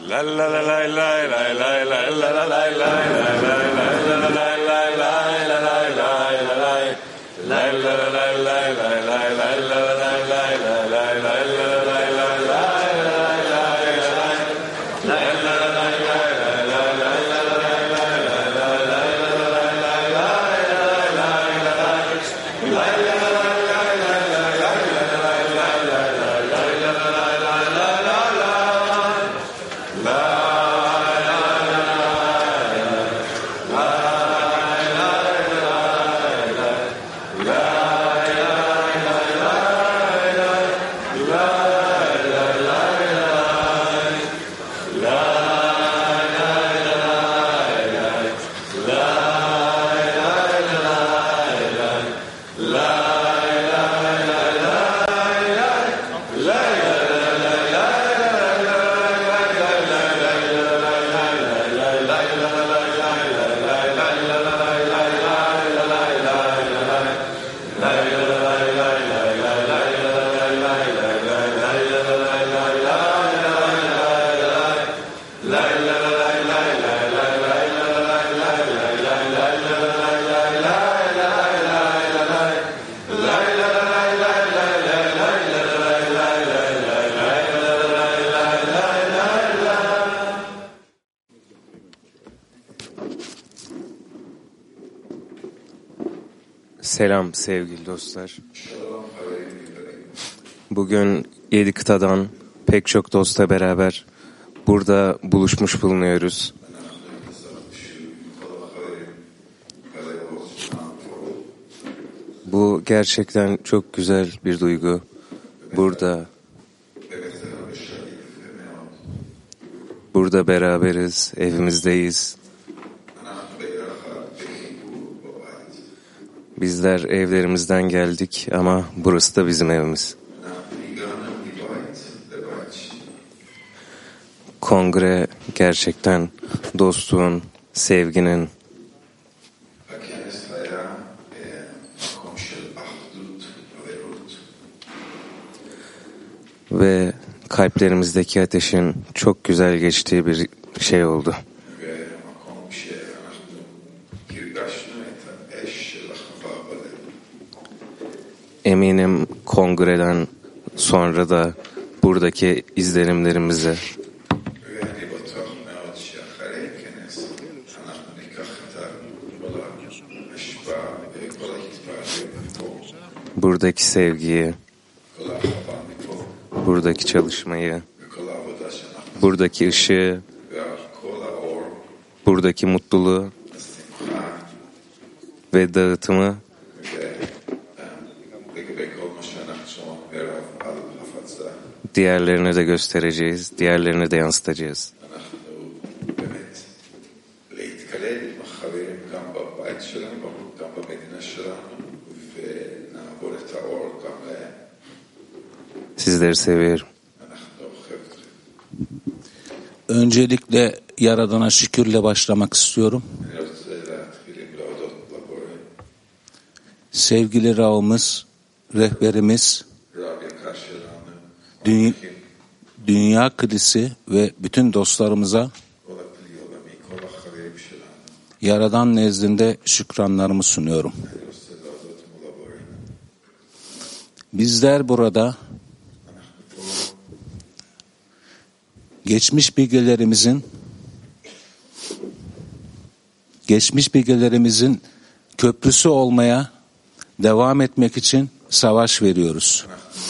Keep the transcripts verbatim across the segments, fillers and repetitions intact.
Selam sevgili dostlar. Bugün yedi kıtadan pek çok dostla beraber burada buluşmuş bulunuyoruz. Bu gerçekten çok güzel bir duygu. Burada burada beraberiz, evimizdeyiz. Bizler evlerimizden geldik ama burası da bizim evimiz. Kongre gerçekten dostluğun, sevginin ve kalplerimizdeki ateşin çok güzel geçtiği bir şey oldu. Eminim kongreden sonra da buradaki izlenimlerimize buradaki sevgiyi, buradaki çalışmayı, buradaki ışığı, buradaki mutluluğu ve dağıtımı diğerlerine de göstereceğiz, diğerlerine de yansıtacağız. Sizleri seviyorum. Öncelikle Yaradan'a şükürle başlamak istiyorum. Sevgili Rav'ımız, rehberimiz, dünya, dünya kilisi ve bütün dostlarımıza Yaradan nezdinde şükranlarımı sunuyorum. Bizler burada geçmiş bilgelerimizin geçmiş bilgelerimizin köprüsü olmaya devam etmek için savaş veriyoruz.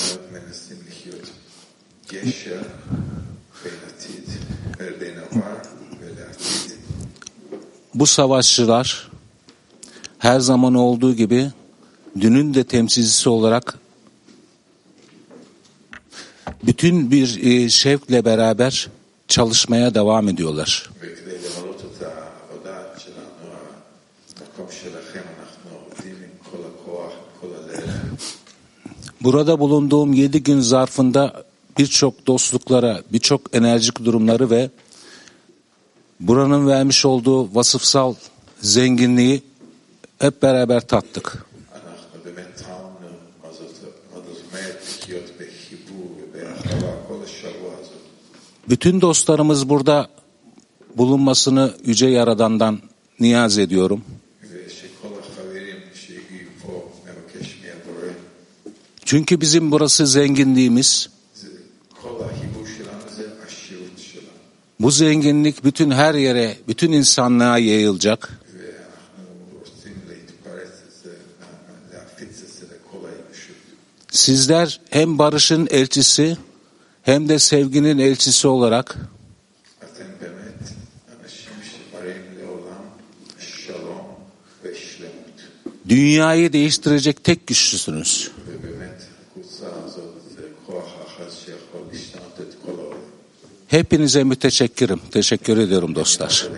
Bu savaşçılar her zaman olduğu gibi dünün de temsilcisi olarak bütün bir şevkle beraber çalışmaya devam ediyorlar. Burada bulunduğum yedi gün zarfında birçok dostluklara, birçok enerjik durumları ve buranın vermiş olduğu vasıfsal zenginliği hep beraber tattık. Bütün dostlarımız burada bulunmasını Yüce Yaradan'dan niyaz ediyorum. Çünkü bizim burası zenginliğimiz. Bu zenginlik bütün her yere, bütün insanlığa yayılacak. Sizler hem barışın elçisi hem de sevginin elçisi olarak dünyayı değiştirecek tek güçlüsünüz. Hepinize müteşekkirim. Teşekkür ediyorum dostlar.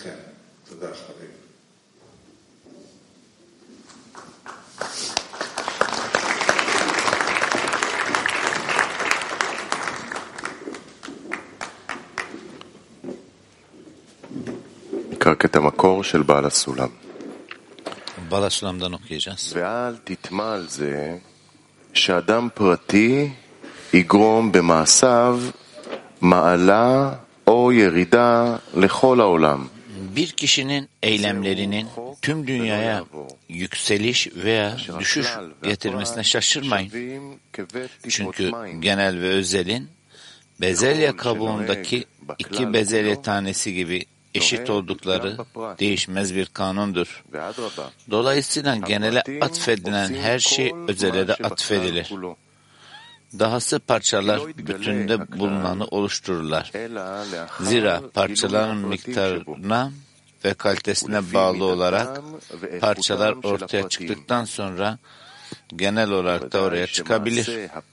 את המקור של בעל הסולם. בעל הסולמ'dan okuyacağız. ואל תטמע על זה שאדם פרטי יגרום במעשיו מעלה או ירידה לכל העולם. Bir kişinin eylemlerinin tüm dünyaya yükseliş veya düşüş getirmesine şaşırmayın. Çünkü genel ve özelin bezelye kabuğundaki iki bezelye tanesi gibi eşit oldukları değişmez bir kanundur. Dolayısıyla genele atfedilen her şey özele de atfedilir. Dahası parçalar bütünde bulunanı oluştururlar. Zira parçaların miktarına ve kalitesine bağlı olarak parçalar ortaya çıktıktan sonra genel olarak da oraya çıkabilir.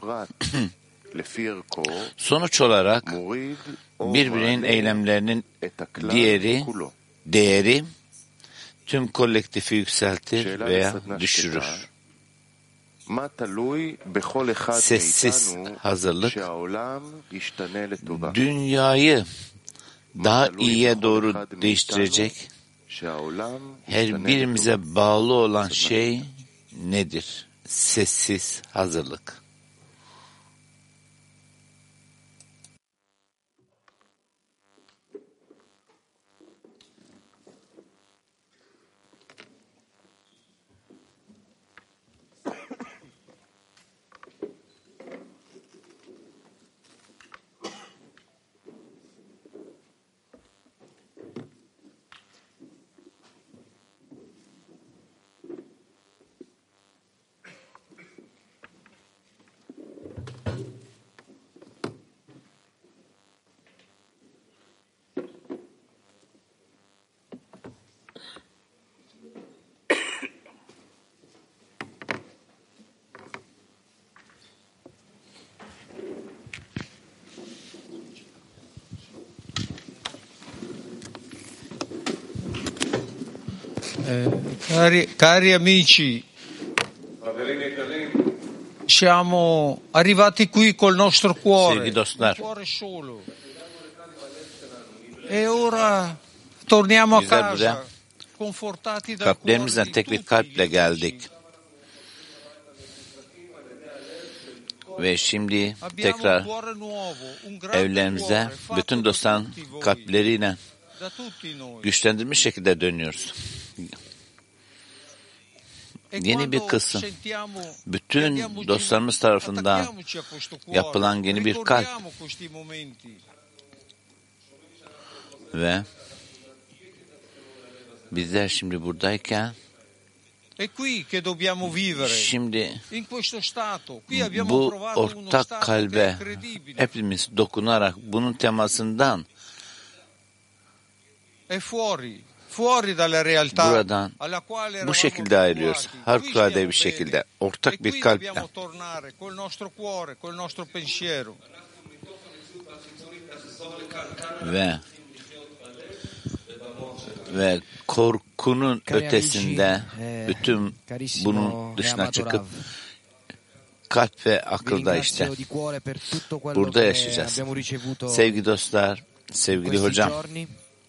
Sonuç olarak bir bireyin eylemlerinin diğeri, değeri tüm kolektifi yükseltir veya düşürür. Sessiz hazırlık, dünyayı daha iyiye doğru değiştirecek her birimize bağlı olan şey nedir? Sessiz hazırlık. Eh, cari, cari amici, siamo arrivati qui col nostro cuore, Sevgili dostlar, un cuore solo. E ora torniamo a Bizler buraya casa, confortati dal cuore kalplerimizden di tek bir tutti kalple gli geldik. amici. Ve şimdi Abbiamo tekrar un cuore nuovo, un grande evlerimize cuore, fatto bütün da dostların tutti voi, kalpleriyle da tutti noi. güçlendirilmiş şekilde dönüyoruz. E Yeni bir quando kısım, sentiamo che bütün andiamoci- dostlarımız tarafından attacchiamoci a questo cuore, yapılan yeni bir kalp ricordiamo questi momenti. ve bizler şimdi buradayken È qui che dobbiamo vivere, şimdi in questo stato. Qui abbiamo bu provato uno ortak stato che è kalbe incredibile. hepimiz dokunarak bunun temasından È fuori, fuori dalla realtà buradan alla quale bu eravamo şekilde ayrılıyoruz. abituati. Qui Harikulade stiamo bir şekilde bene. ortak E bir qui kalple. dobbiamo tornare col nostro cuore, col nostro pensiero. ve ve korkunun Cari ötesinde amici, eh, bütün carissimo bunun e dışına amato çıkıp Rav, kalp ve vi akılda işte ringrazio di cuore per tutto quello burada che yaşayacağız. abbiamo ricevuto Sevgili dostlar, in sevgili questi hocam, giorni.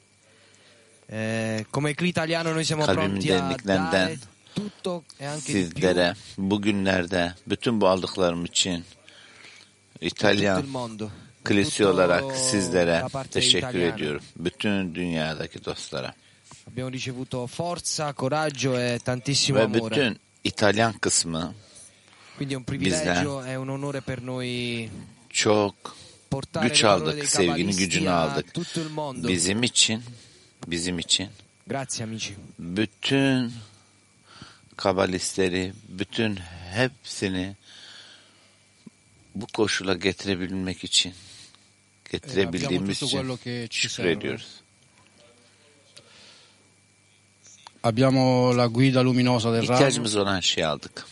Eh, come Cli Italiano noi siamo kalbimin pronti a derinliklerinden dare tutto e anche di più sizlere bugünlerde bütün bu aldıklarım için per tutto İtalyan il mondo. Kilise olarak sizlere da parte teşekkür italiana. ediyorum. Bütün dünyadaki dostlara. Abbiamo ricevuto forza, coraggio e tantissimo Ve amore. bütün İtalyan kısmı Quindi è un privilegio, è un onore per noi çok portare güç le parole aldık, dei sevginin cabalisti gücünü a aldık. tutto il mondo. Bizim için, bizim için Grazie amici. bütün kabalistleri, bütün hepsini bu koşula getirebilmek için getirebildiğimiz tutto quello için che ci şükür serve. ediyoruz. Abbiamo la guida luminosa del ramo, İhtiyacımız olan şeyi aldık.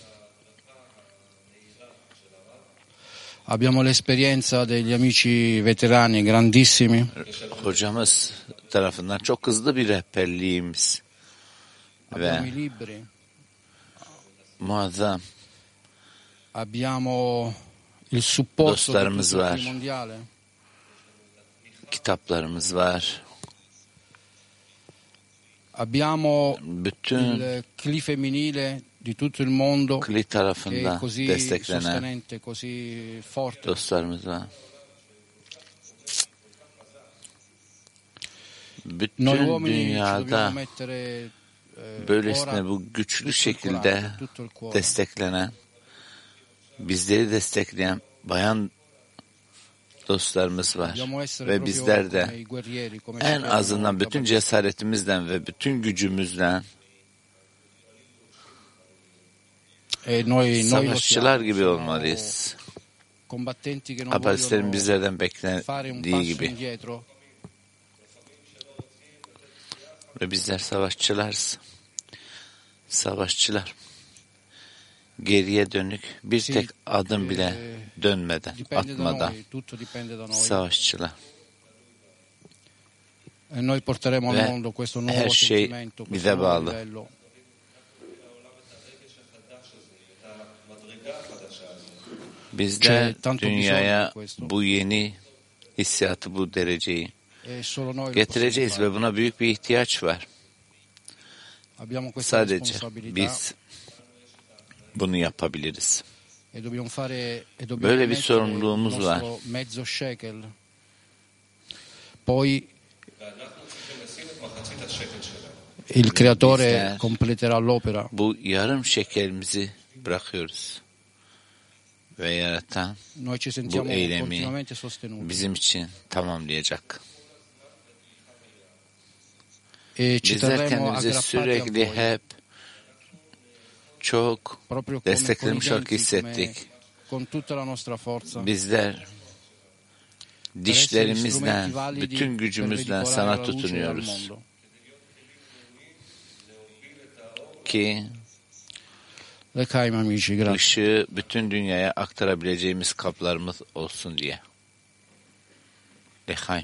abbiamo l'esperienza degli amici veterani grandissimi, Hocamız tarafından çok hızlı bir rehberliğimiz abbiamo ve i libri, muazzam abbiamo il supporto di Dostlarımız tutto il var. team mondiale, kitaplarımız var. abbiamo Bütün il C L I femminile di tutto il mondo Kli che è tarafından così desteklenen sostenente, così forte. dostlarımız var. Noi Bütün uomini ci dünyada dobbiamo mettere eh, böylesine ora bu güçlü tutto il şekilde coraggio, tutto il cuore. desteklenen, bizleri destekleyen bayan dostlarımız var. Dobbiamo essere Ve proprio bizler de come i guerrieri, come en sapevano azından i bütün cabalisti. cesaretimizden ve bütün gücümüzle E noi, noi lo savaşçılar siamo, gibi siamo olmalıyız. combattenti che non Kabalistlerin bizlerden vogliono fare un beklendiği passo gibi. indietro, Ve bizler savaşçılarız. Savaşçılar. Geriye dönük bir Sì, tek adım bile eh, dönmeden, dipende da atmadan noi, tutto dipende da noi. savaşçılar. E noi porteremo al Ve mondo questo nuovo her şey sentimento, questo bize nuovo bağlı. livello. Biz de C'è tanto dünyaya bisogno di questo. bu yeni hissiyatı, bu dereceyi E solo noi lo getireceğiz possiamo ve buna büyük bir ihtiyaç var. fare. Abbiamo questa Sadece responsabilità biz bunu yapabiliriz. e dobbiamo fare e dobbiamo Böyle bir mettere sorumluluğumuz il var. nostro mezzo shekel. Poi il creatore Bizler- completerà l'opera. Bu yarım şekerimizi bırakıyoruz. Ve yaratan Noi ci sentiamo eylemi continuamente sostenuti. bizim için tamamlayacak. E ci Bizler terremo kendimizi aggrappati a sürekli voi, hep çok proprio come con i desteklemiş olarak denti, come- hissettik. con tutta la nostra forza. Bizler dişlerimizle, bütün gücümüzle sana tutunuyoruz ki L'Echaim amici, grazie. ışığı bütün dünyaya aktarabileceğimiz kaplarımız olsun diye. L'Echaim.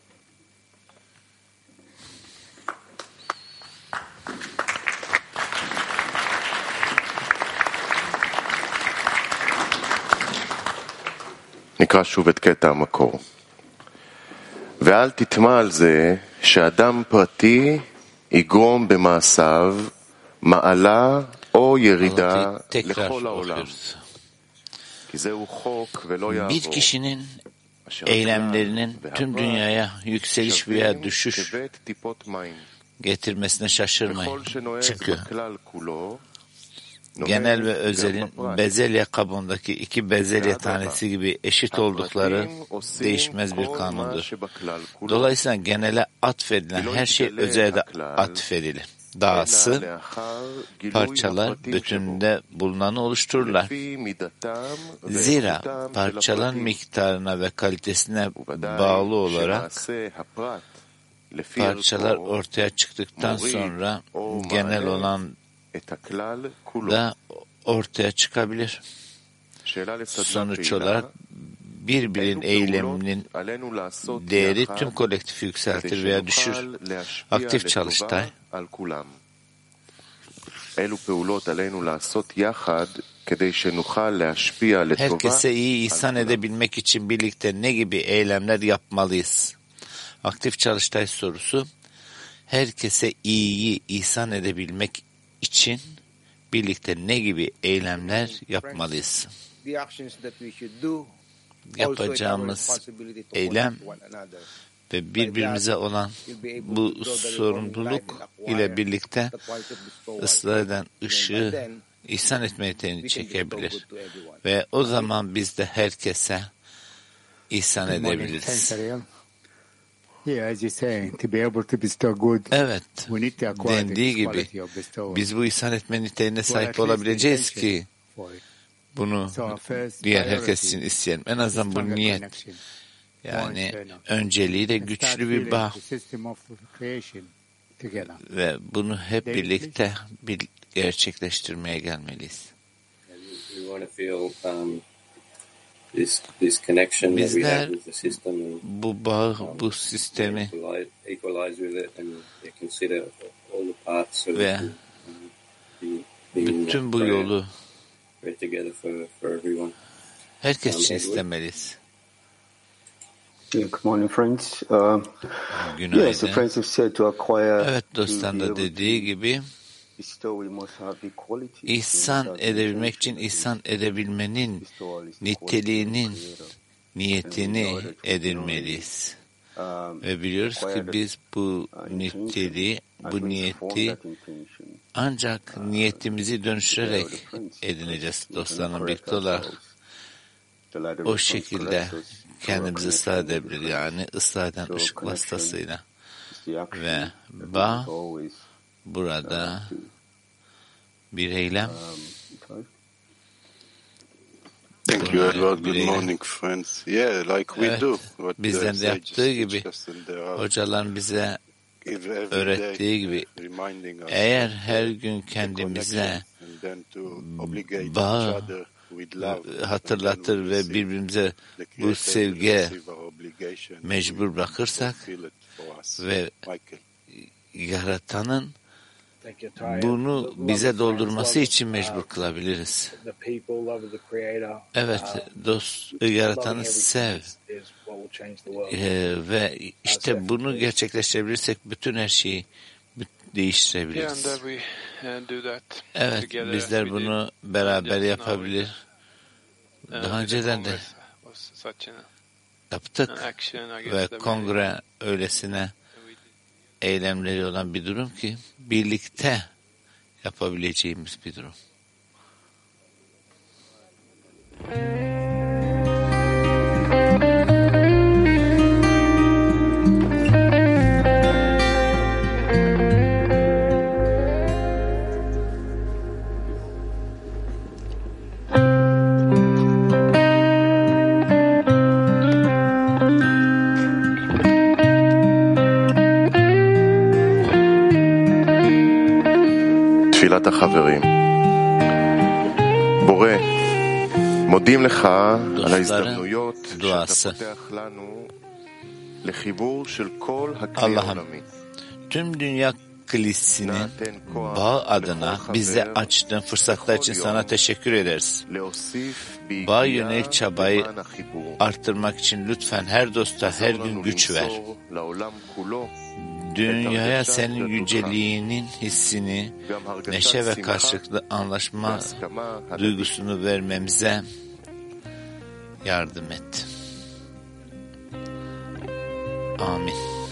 נקרא שוב את קטע המקור. ואל תטמע על זה שאדם פרטי יגרום במעשיו מעלה או ירידה Anlatıyı tekrar לכל העולם. okuyoruz. כי זהו חוק ולא Bir יעבור. kişinin אשר eylemlerinin הכלל tüm והפרט dünyaya yükseliş veya שווים düşüş כבית טיפות מים. getirmesine şaşırmayın. וכל שנוהג Çünkü בכלל כולו, genel ve נוהג גם özelin בפרט. bezelye kabındaki iki bezelye tanesi gibi eşit oldukları הפרטים עושים değişmez bir כל מה kanundur. שבכלל כולו. Dolayısıyla genele atfedilen her şey özele de atfedilir. Dahası אלא לאחר גילוי parçalar הפרטים שבו. bütününde bulunanı oluştururlar. לפי מידתם Zira ואיכותם של parçaların הפרטים. miktarına ve kalitesine ובוודאי bağlı olarak שמעשה הפרט לפי parçalar ערכו ortaya çıktıktan sonra genel olan את הכלל כולו. da ortaya çıkabilir. שאלה לסדנה Sonuç פעילה, olarak bir birin אילו eyleminin פעולות עלינו לעשות değeri יחד tüm kolektifi כדי yükseltir veya düşür. שנוכל להשפיע Aktif לטובה çalıştay. על כולם. אילו פעולות עלינו לעשות יחד כדי שנוכל להשפיע לטובה Herkese iyi על ihsan כולם. edebilmek için birlikte ne gibi eylemler yapmalıyız? Aktif çalıştay sorusu. Herkese iyiyi ihsan edebilmek için birlikte ne gibi eylemler yapmalıyız? The actions that we should do yapacağımız eylem ve birbirimize olan bu sorumluluk ile birlikte ıslah eden ışığı ihsan etme yeteneğini çekebilir. Ve o zaman biz de herkese ihsan edebiliriz. Evet, dendiği gibi biz bu ihsan etme niteliğine sahip olabileceğiz ki bunu diğer herkes için isteyelim. En azından bu niyet, yani önceliği de güçlü bir bağ ve bunu hep birlikte bir gerçekleştirmeye gelmeliyiz. Bizler bu bağı, bu sistemi ve bütün bu yolu herkes için istemeliyiz. Good morning, friends. Uh, Günaydın. yes, the friends have said to acquire, Evet, dostlar da dediği gibi ihsan edebilmek için ihsan edebilmenin niteliğinin niyetini edinmeliyiz. Ve biliyoruz ki biz bu niteliği, bu niyeti ancak niyetimizi dönüştürerek edineceğiz dostlarla birlikte olarak. O şekilde kendimizi ıslah edebilir, yani ıslah eden ışık vasıtasıyla. Ve bağ burada bir eylem. Thank you, Edward. Good morning, friends. Yeah, like we Evet, do. What bizden de yaptığı gibi, hocaların bize öğrettiği gibi, eğer her gün kendimize bağ hatırlatır ve birbirimize bu sevgiye mecbur bırakırsak ve yaratanın bunu bize doldurması için mecbur kılabiliriz. Evet, dost, yaratanı sev ee, ve işte bunu gerçekleştirebilirsek bütün her şeyi değiştirebiliriz. Evet, bizler bunu beraber yapabilir. Daha önceden de yaptık ve kongre öylesine eylemleri olan bir durum ki birlikte yapabileceğimiz bir durum. תפילת החברים. בורא, מודים לך על ההזדמנויות שאתה פותח לנו לחיבור של כל הכלי העולמי. Tüm dünya kilisinin bağ adına bize açtığın fırsatlar için sana teşekkür ederiz. Bağ yönelik çabayı arttırmak için lütfen her dosta her gün güç ver. Dünyaya senin yüceliğinin hissini, neşe ve karşılıklı anlaşma duygusunu vermemize yardım et. Amin.